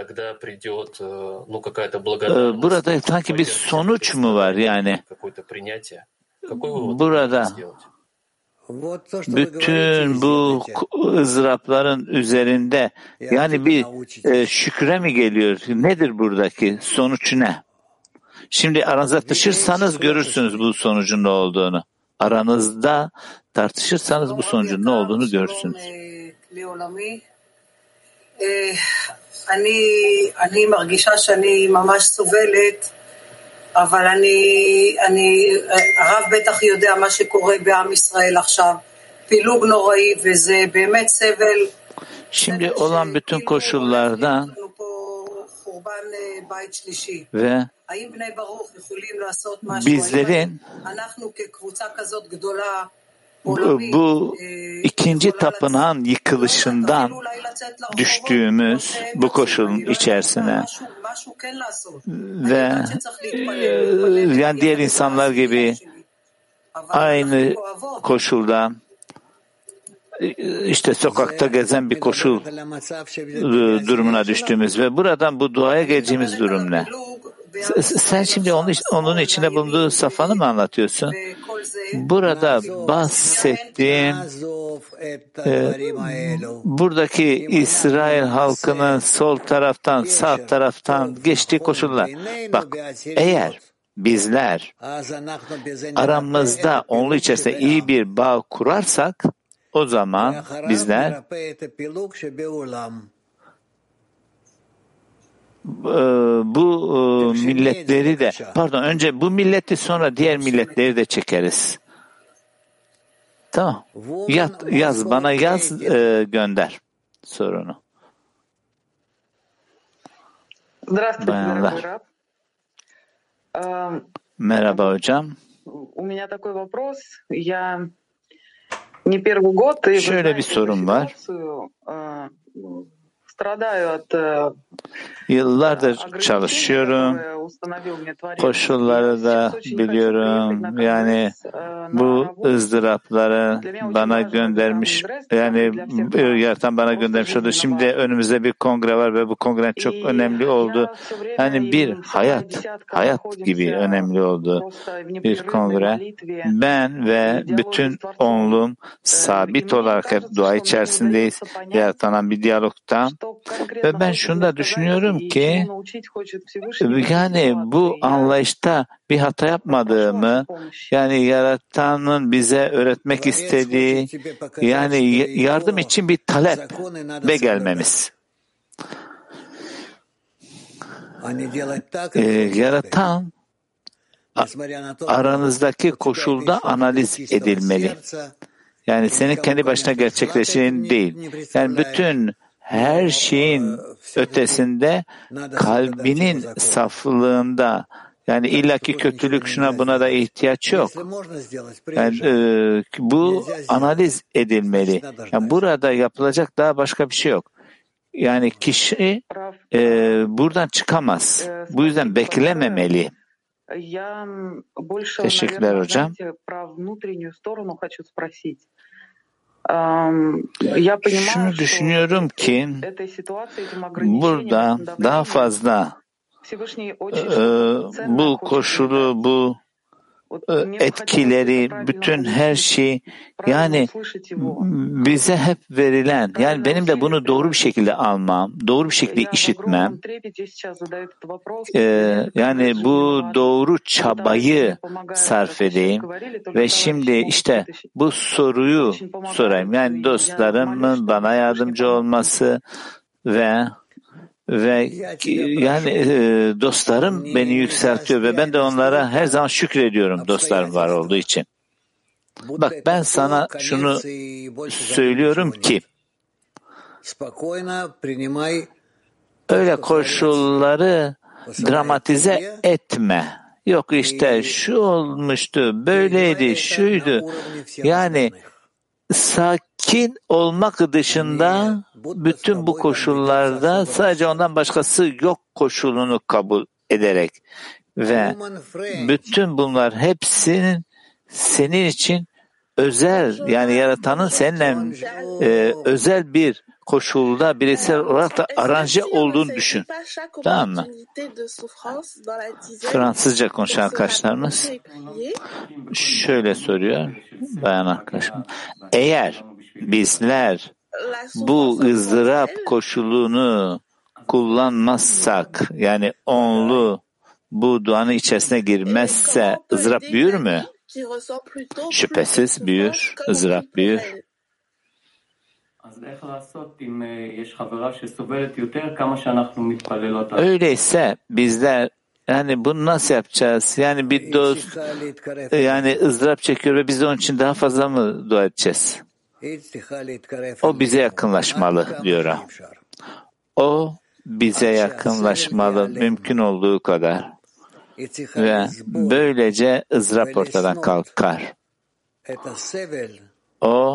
burada sanki bir sonuç mu var yani? Burada bütün bu ızdırapların üzerinde yani bir şükre mi geliyor? Nedir buradaki? Sonuç ne? Şimdi aranızda tartışırsanız görürsünüz bu sonucun ne olduğunu. Aranızda tartışırsanız bu sonucun ne olduğunu görürsünüz. אני מרגישה שאני ממש סובלת, אבל הרב בטח יודע מה שקורה בעם ישראל עכשיו, פילוג נוראי, וזה באמת סבל. Şimdi olan bütün koşullarda ve bizlerin bu ikinci tapınağın yıkılışından düştüğümüz bu koşulun içerisine ve yani diğer insanlar gibi aynı koşulda işte sokakta gezen bir koşul durumuna düştüğümüz ve buradan bu duaya geleceğimiz durum ne? Sen şimdi onun içinde bulunduğu safhanı mı anlatıyorsun? Burada bahsettiğim buradaki İsrail halkının sol taraftan sağ taraftan geçtiği koşullar. Bak eğer bizler aramızda onun içerisinde iyi bir bağ kurarsak o zaman bizler bu milletleri de önce bu milleti sonra diğer milletleri de çekeriz. Tamam. Yaz bana gönder sorunu. Bayanlar. Merhaba hocam. Şöyle bir sorun var. Yıllardır çalışıyorum. Koşulları da biliyorum. Yani bu ızdırapları bana göndermiş. Yani yaratan bana göndermiş oldu. Şimdi önümüzde bir kongre var ve bu kongre çok önemli oldu. Yani bir hayat gibi önemli oldu bir kongre. Ben ve bütün onluğum sabit olarak hep dua içerisindeyiz. Yaratan bir diyalogta. Ve ben şunu da düşünüyorum ki yani bu anlayışta bir hata yapmadığımı, yani Yaratan'ın bize öğretmek istediği yani yardım için bir taleple gelmemiz. Yaratan aranızdaki koşulda analiz edilmeli. Yani senin kendi başına gerçekleşen değil. Yani bütün her şeyin ötesinde kalbinin saflığında yani illaki kötülük şuna buna da ihtiyaç yok. Yani bu analiz edilmeli. Yani burada yapılacak daha başka bir şey yok. Yani kişi buradan çıkamaz. Bu yüzden beklememeli. Teşekkürler hocam. Şunu düşünüyorum ki burada daha fazla bu koşulu, bu etkileri, bütün her şey yani bize hep verilen, yani benim de bunu doğru bir şekilde almam, doğru bir şekilde işitmem, yani bu doğru çabayı sarf edeyim ve şimdi işte bu soruyu sorayım. Yani dostlarımın bana yardımcı olması ve yani dostlarım beni yükseltiyor ve ben de onlara her zaman şükrediyorum dostlarım var olduğu için. Bak ben sana şunu söylüyorum ki öyle koşulları dramatize etme. Yok işte şu olmuştu, böyleydi, şuydu. Yani sakin olmak dışında bütün bu koşullarda sadece ondan başkası yok koşulunu kabul ederek ve bütün bunlar hepsinin senin için özel, yani Yaratan'ın seninle özel bir koşulda bireysel olarak da aranje olduğunu düşün. Tamam mı? Fransızca konuşan arkadaşlarımız şöyle soruyor bayan arkadaşım. Eğer bizler bu ızdırap koşulunu kullanmazsak, yani onlu bu duanın içerisine girmezse ızdırap büyür mü? Şüphesiz büyür, ızdırap büyür. Öyleyse bizler yani bunu nasıl yapacağız? Yani bir dost yani ızdırap çekiyor ve biz de onun için daha fazla mı dua edeceğiz? O bize yakınlaşmalı diyor. O bize yakınlaşmalı mümkün olduğu kadar. Ve böylece ızdırap ortadan kalkar. O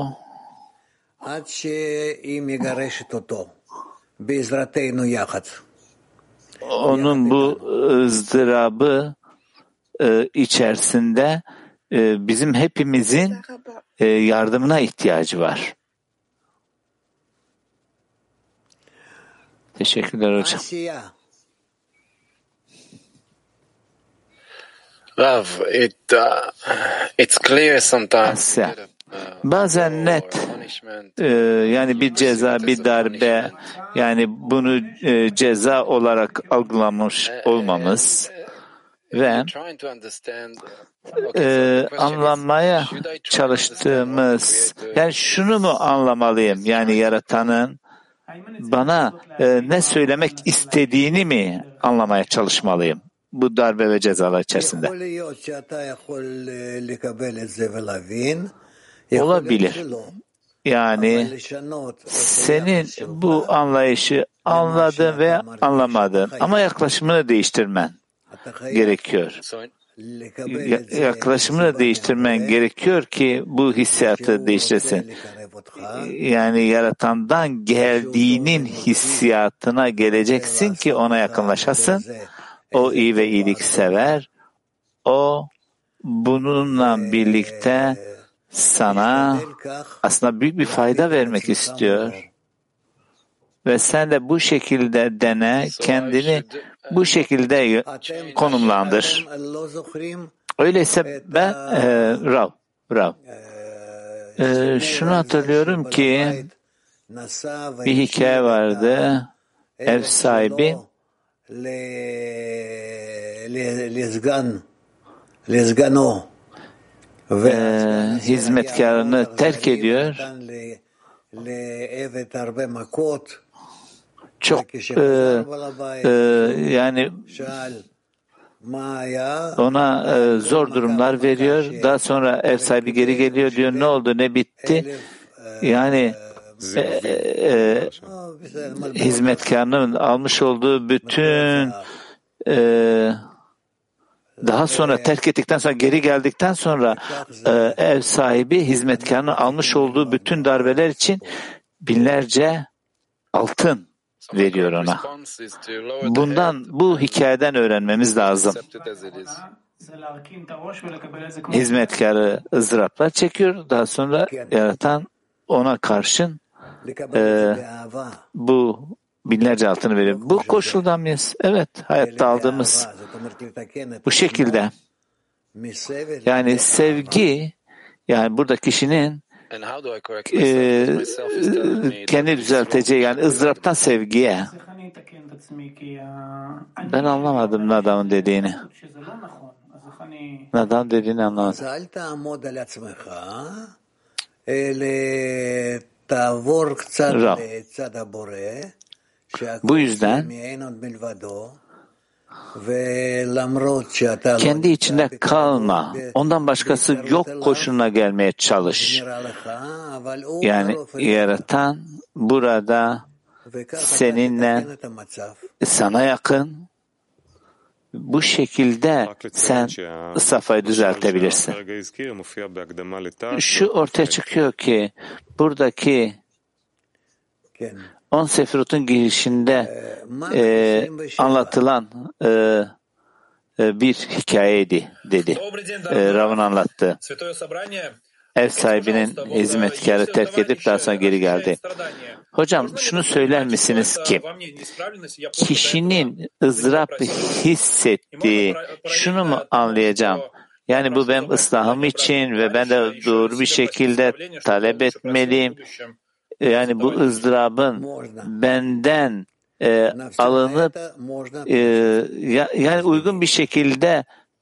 onun bu ızdırabı içerisinde bizim hepimizin yardımına ihtiyacı var. Teşekkürler hocam. Rav, it's clear sometimes. Bazen net yani bir ceza, bir darbe, yani bunu ceza olarak algılamış olmamız ve anlamaya çalıştığımız, yani şunu mu anlamalıyım, yani Yaratan'ın bana ne söylemek istediğini mi anlamaya çalışmalıyım bu darbe ve cezalar içerisinde? Olabilir. Yani senin bu anlayışı anladın ve anlamadın ama yaklaşımını değiştirmen gerekiyor. Yaklaşımını değiştirmen gerekiyor ki bu hissiyatı değiştirsin. Yani Yaratan'dan geldiğinin hissiyatına geleceksin ki ona yakınlaşasın. O iyi ve iyilik sever. O bununla birlikte sana aslında büyük bir fayda vermek istiyor. Ve sen de bu şekilde dene, kendini bu şekilde konumlandır. Öyleyse ben Rav. Şunu hatırlıyorum ki bir hikaye vardı. Ev sahibi hizmetkarını terk ediyor. Çok yani ona zor durumlar veriyor. Daha sonra ev sahibi geri geliyor, diyor ne oldu, ne bitti? Yani hizmetkarının almış olduğu bütün daha sonra terk ettikten sonra, geri geldikten sonra ev sahibi hizmetkarının almış olduğu bütün darbeler için binlerce altın veriyor ona. Bu hikayeden öğrenmemiz lazım. Hizmetkarı ızdıraplar çekiyor. Daha sonra Yaratan ona karşın bu binlerce altını veriyor. Bu koşuldan mıyız? Evet, hayatta aldığımız bu şekilde. Yani sevgi, yani burada kişinin kendi düzelteceği, yani ızdıraptan sevgiye. Ben anlamadım Nadav'ın dediğini. Nadav'ın dediğini anlamadım. Rav. Bu yüzden kendi içinde kalma. Ondan başkası yok koşuluna gelmeye çalış. Yani Yaratan burada seninle, sana yakın, bu şekilde sen safhayı düzeltebilirsin. Şu ortaya çıkıyor ki buradaki 10 Sefirot'un girişinde anlatılan bir hikayeydi dedi. Rav'ın anlattı. Ev sahibinin hizmetkarı terk edip daha sonra geri geldi. Hocam şunu söyler misiniz ki kişinin ızdırap hissettiği şunu mu anlayacağım? Yani bu benim ıslahım için ve ben de doğru bir şekilde talep etmeliyim. Yani bu ızdırabın benden alınıp yani uygun bir şekilde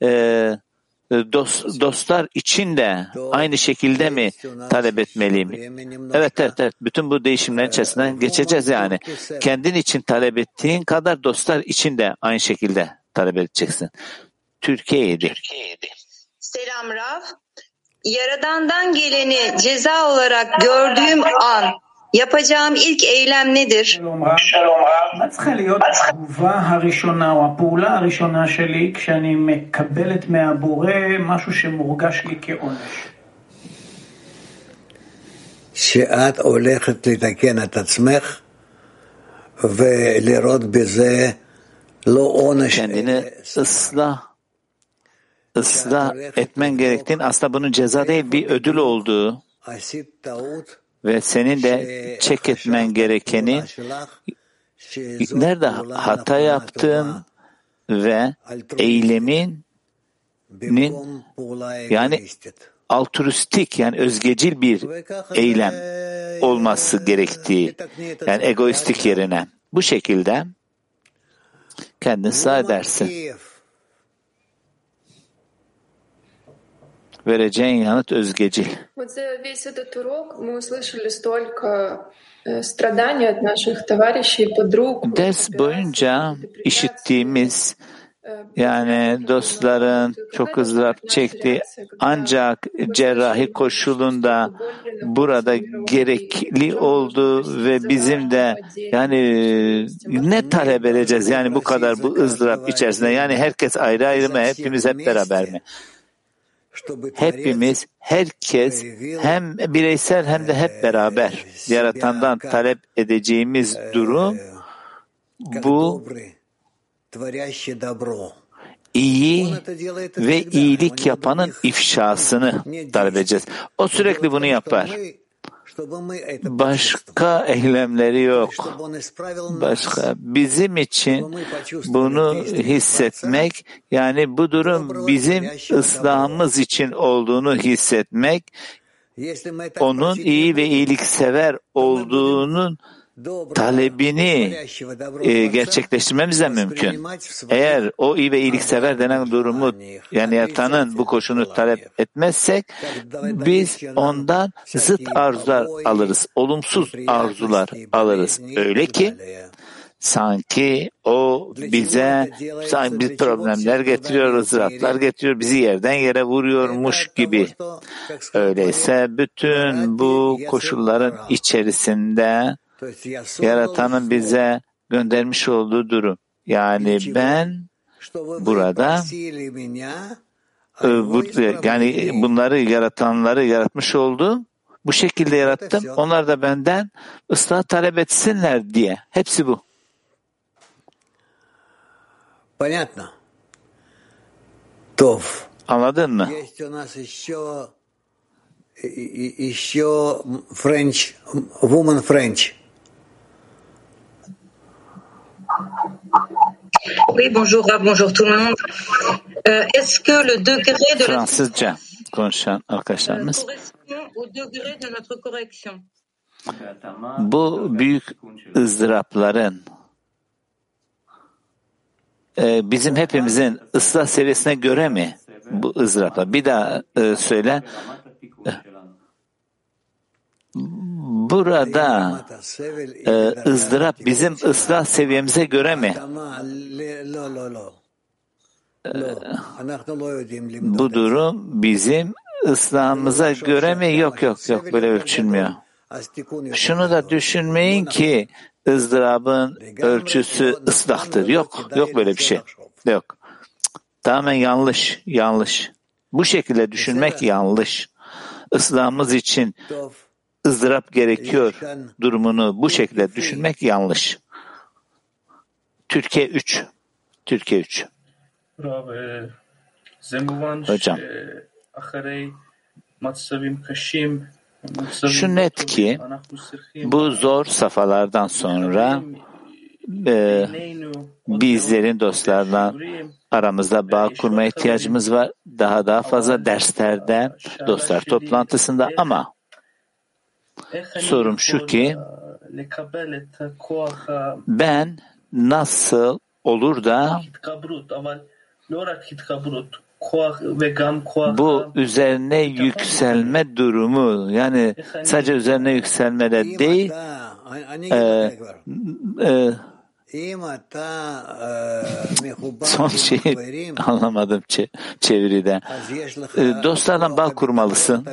dostlar için de aynı şekilde mi talep etmeliyim? Evet. Bütün bu değişimlerin içerisinden geçeceğiz yani. Kendin için talep ettiğin kadar dostlar için de aynı şekilde talep edeceksin. Türkiye'ydi. Selam Rav. Yaradan'dan geleni ceza olarak gördüğüm an yapacağım ilk eylem nedir? מה צריכה להיות התגובה הראשונה או הפעולה הראשונה שלי כשאני מקבלת מהבורא משהו שמורגש לי כעונש? שאת הולכת לתקן את עצמך ולראות בזה לא עונש. Kendini ıslah etmen gerektiğini, aslında bunun ceza değil bir ödül olduğu ve senin de çek etmen gerekeni nerede hata yaptığın ve eyleminin yani altruistik yani özgecil bir eylem olması gerektiği yani egoistik yerine bu şekilde kendini ıslah edersin. Vereceğin yanıt özgecil. Ders boyunca işittiğimiz yani dostların çok ızdırap çektiği ancak cerrahi koşulunda burada gerekli oldu ve bizim de yani ne talep edeceğiz yani bu kadar bu ızdırap içerisinde yani herkes ayrı ayrı mı hepimiz hep beraber mi? Hepimiz, herkes hem bireysel hem de hep beraber Yaratan'dan talep edeceğimiz durum bu iyi ve iyilik yapanın ifşasını talep edeceğiz. O sürekli bunu yapar. Başka eylemleri yok. Başka. Bizim için bunu hissetmek, yani bu durum bizim ıslahımız için olduğunu hissetmek, onun iyi ve iyiliksever olduğunun talebini gerçekleştirmemize mümkün. Eğer o iyi ve iyiliksever denen durumu yani Yaratan'ın bu koşunu talep etmezsek biz ondan zıt arzular alırız. Olumsuz arzular alırız. Öyle ki sanki o bize bir problemler getiriyor, ızdıraplar getiriyor, bizi yerden yere vuruyormuş gibi. Öyleyse bütün bu koşulların içerisinde Yaratan'ın bize göndermiş olduğu durum. Yani ben burada yani bunları yaratanları yaratmış oldum. Bu şekilde yarattım. Onlar da benden ıslah talep etsinler diye. Hepsi bu. Понятно. Tov. Anladın mı? Еще French, woman French. Oui, bonjour, bonjour tout le monde. Est-ce que le degré de Fransızca konuşan arkadaşlarımız. Bu büyük ızdırapların bizim hepimizin ıslah seviyesine göre mi bu ızdıraplar? Bir daha söyle. Burada ızdırap bizim ıslah seviyemize göre mi? Bu durum bizim ıslahımıza göre mi? Yok böyle ölçülmüyor. Şunu da düşünmeyin ki ızdırabın ölçüsü ıslahtır. Yok böyle bir şey. Yok. Tamamen yanlış. Bu şekilde düşünmek yanlış. Islahımız için ızdırap gerekiyor durumunu bu şekilde düşünmek yanlış. Türkiye 3. Hocam. Şu net ki Bu zor safhalardan sonra bizlerin dostlarla aramızda bağ kurma ihtiyacımız var. Daha fazla derslerde, dostlar toplantısında ama sorum şu ki ben nasıl olur da bu üzerine yükselme durumu, yani sadece üzerine yükselmede değil, son şeyi anlamadım çeviride. Dostlarla bağ kurmalısın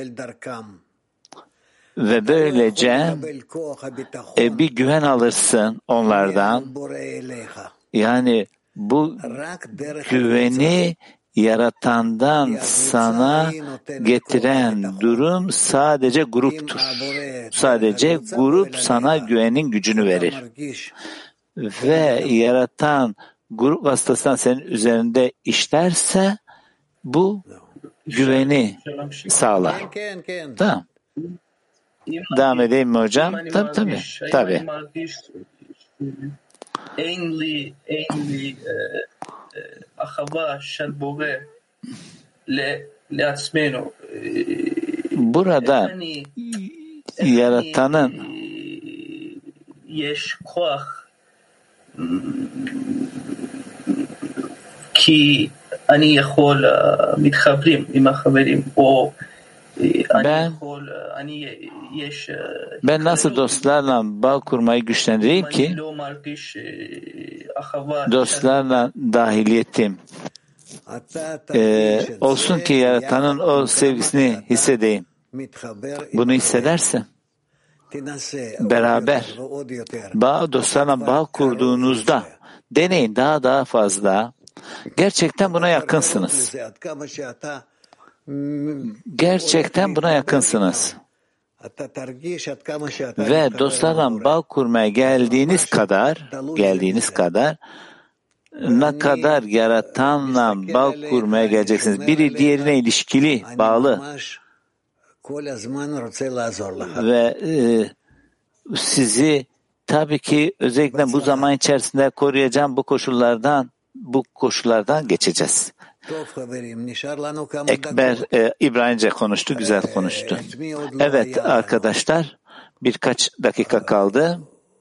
ve böylece bir güven alırsın onlardan. Yani bu güveni Yaratan'dan sana getiren durum sadece gruptur. Sadece grup sana güvenin gücünü verir. Ve Yaratan grup vasıtasından senin üzerinde işlerse bu güveni sağlar. Tamam. Devam edeyim mi hocam? Tabii. Burada Yaratan'ın ben nasıl dostlarla bağ kurmayı güçlendireyim ki dostlarla dahiliyetim olsun ki Yaratan'ın o sevgisini hissedeyim. Bunu hissederse beraber dostlarla bağ kurduğunuzda deneyin daha fazla. Gerçekten buna yakınsınız. Gerçekten buna yakınsınız. Ve dostlarla bağ kurmaya geldiğiniz kadar ne kadar Yaratan'la bağ kurmaya geleceksiniz. Biri diğerine ilişkili, bağlı. Ve sizi tabii ki özellikle bu zaman içerisinde koruyacağım bu koşullardan geçeceğiz. Ekber İbranice konuştu, güzel konuştu. Evet arkadaşlar, birkaç dakika kaldı.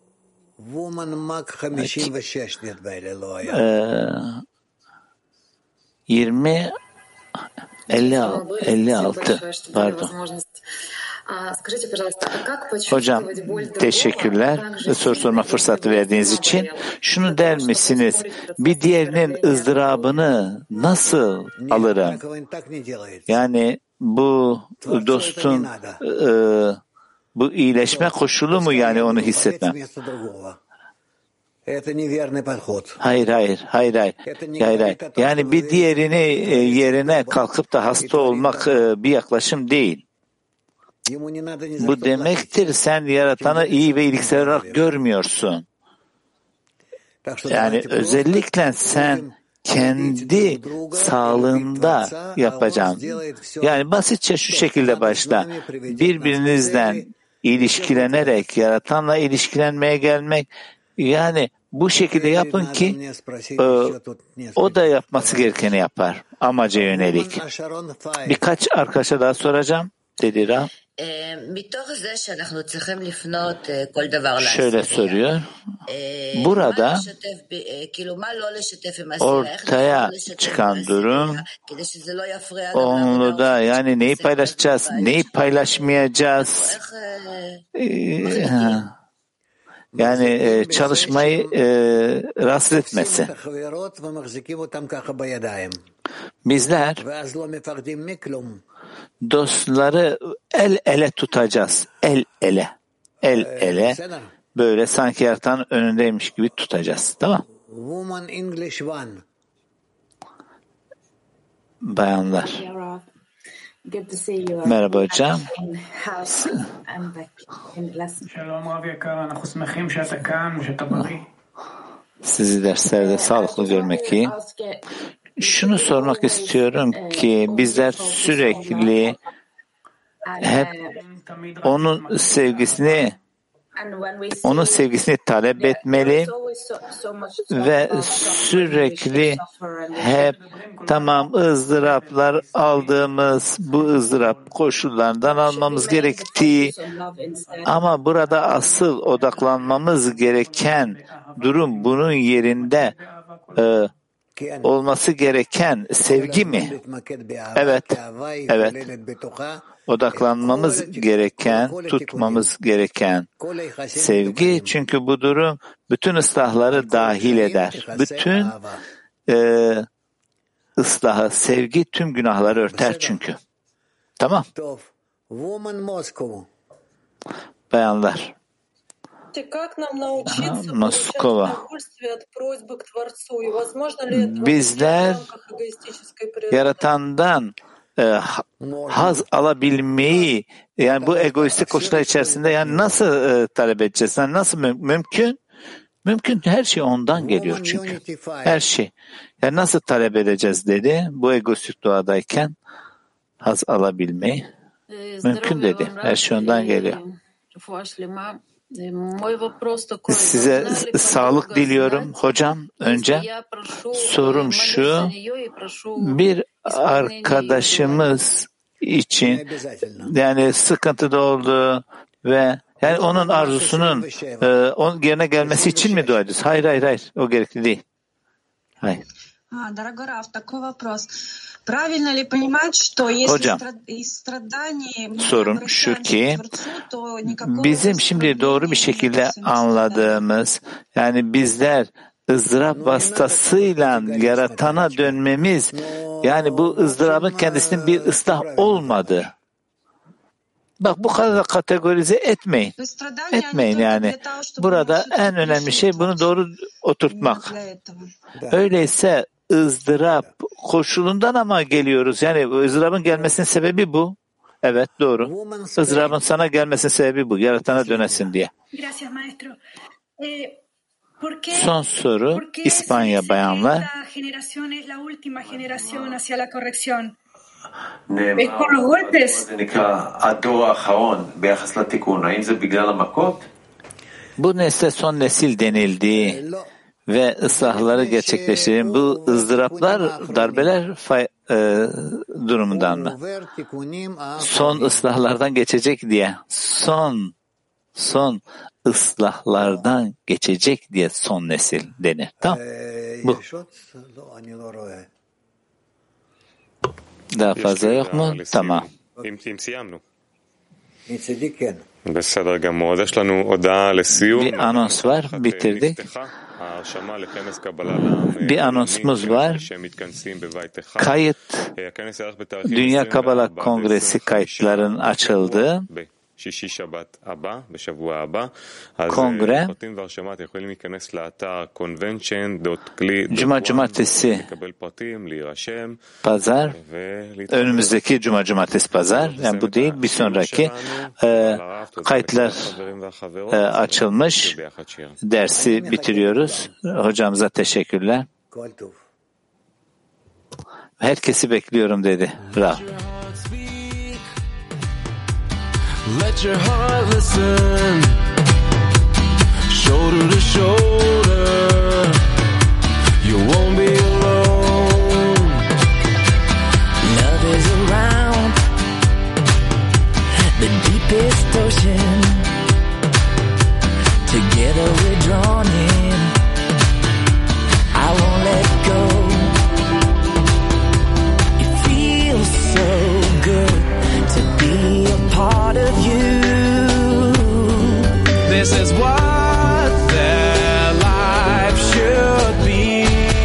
56 pardon. Hocam teşekkürler soru sorma fırsatı verdiğiniz için. Şunu der misiniz? Bir diğerinin ızdırabını nasıl alırım? Yani bu dostun bu iyileşme koşulu mu, yani onu hissetmem? Hayır. Yani bir diğerini yerine kalkıp da hasta olmak bir yaklaşım değil. Bu demektir sen Yaratan'ı iyi ve iyiliksel olarak görmüyorsun. Yani özellikle sen kendi sağlığında yapacaksın. Yani basitçe şu şekilde başla. Birbirinizden ilişkilenerek Yaratan'la ilişkilenmeye gelmek, yani bu şekilde yapın ki o da yapması gerekeni yapar. Amaca yönelik. Birkaç arkadaşa daha soracağım. Dedi Rab. Şöyle soruyor. Burada ortaya çıkan durum onu da, yani neyi paylaşacağız, neyi paylaşmayacağız, yani çalışmayı rahatsız etmesi. Bizler dostları el ele tutacağız. El ele. Böyle sanki Yaratan'ın önündeymiş gibi tutacağız. Tamam. Bayanlar. Merhaba hocam. Sizi derslerde sağlıklı görmek iyi. Şunu sormak istiyorum ki bizler sürekli hep onun sevgisini talep etmeli ve sürekli hep tamam ızdıraplar aldığımız bu ızdırap koşullardan almamız gerektiği ama burada asıl odaklanmamız gereken durum bunun yerinde olması gereken sevgi mi? Evet. Odaklanmamız gereken, tutmamız gereken sevgi. Çünkü bu durum bütün ıslahları dahil eder. Bütün ıslahı, sevgi tüm günahları örter çünkü. Tamam. Bayanlar. Moskova. Bizler Yaratan'dan haz alabilmeyi yani bu egoistik koşullar içerisinde yani nasıl talep edeceğiz? Yani nasıl mümkün? Mümkün. Her şey ondan geliyor çünkü. Her şey. Yani nasıl talep edeceğiz dedi. Bu egoistik doğadayken haz alabilmeyi mümkün dedi. Her şey ondan geliyor. Size sağlık diliyorum hocam. Önce sorum şu, bir arkadaşımız için yani sıkıntıda oldu ve yani onun arzusunun onun yerine gelmesi için mi dua ediyoruz? Hayır. O gerekli değil. Hayır. Hocam, sorum şu ki bizim şimdi doğru bir şekilde anladığımız yani bizler ızdırap vasıtasıyla yaratana dönmemiz yani bu ızdırabın kendisinin bir ıslah olmadı. Bak bu kadar kategorize etmeyin. Etmeyin yani. Burada en önemli şey bunu doğru oturtmak. Öyleyse ızdırap koşulundan ama geliyoruz. Yani ızdırabın gelmesinin sebebi bu. Evet doğru. Izdırabın sana gelmesinin sebebi bu. Yaratana dönesin diye. Son soru İspanya bayanlar. Bu nesle son nesil denildi ve ıslahları gerçekleştiren bu ızdıraplar, darbeler durumundan mı? Son ıslahlardan geçecek diye. Son ıslahlardan geçecek diye son nesil denir. Tamam. Bu. Daha fazla yok mu? Tamam. Bir anons var. Bitirdik. Bir anonsumuz var. Kayıt Dünya Kabala Kongresi kayıtların açıldı. Kongre Cumartesi Pazar önümüzdeki Cumartesi Pazar yani bu değil bir sonraki kayıtlar açılmış dersi bitiriyoruz. Hocamıza teşekkürler. Herkesi bekliyorum dedi. Rav. Let your heart listen, shoulder to shoulder, you won't be alone. Love is around the deepest ocean, together we're drawn in, I won't let go. It feels so good to be a part of you. This is what their life should be.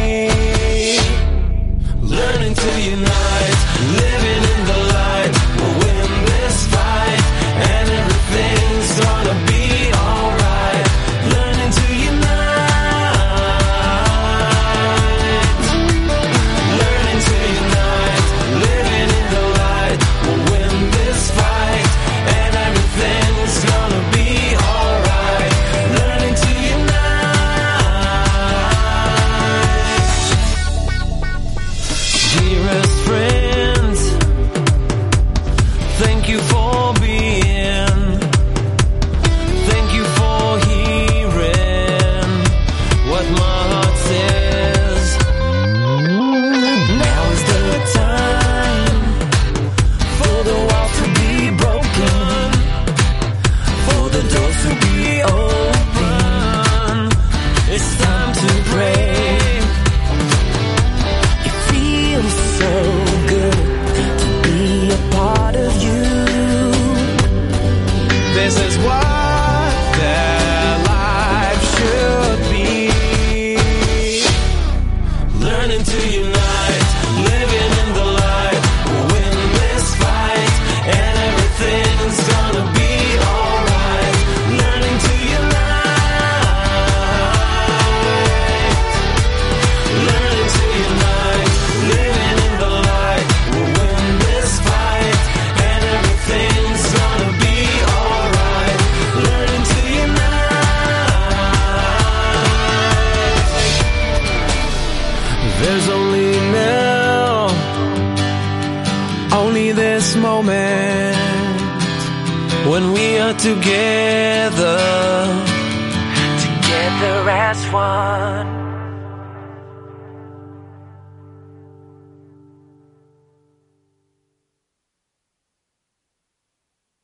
Learning to unite, living in the light. We'll win this fight, and everything's gonna be alright. Learning to unite, learning to unite, living in the light. We'll win this fight, and everything's gonna be alright. Learning to unite. There's only now, only this moment, when we are together as one.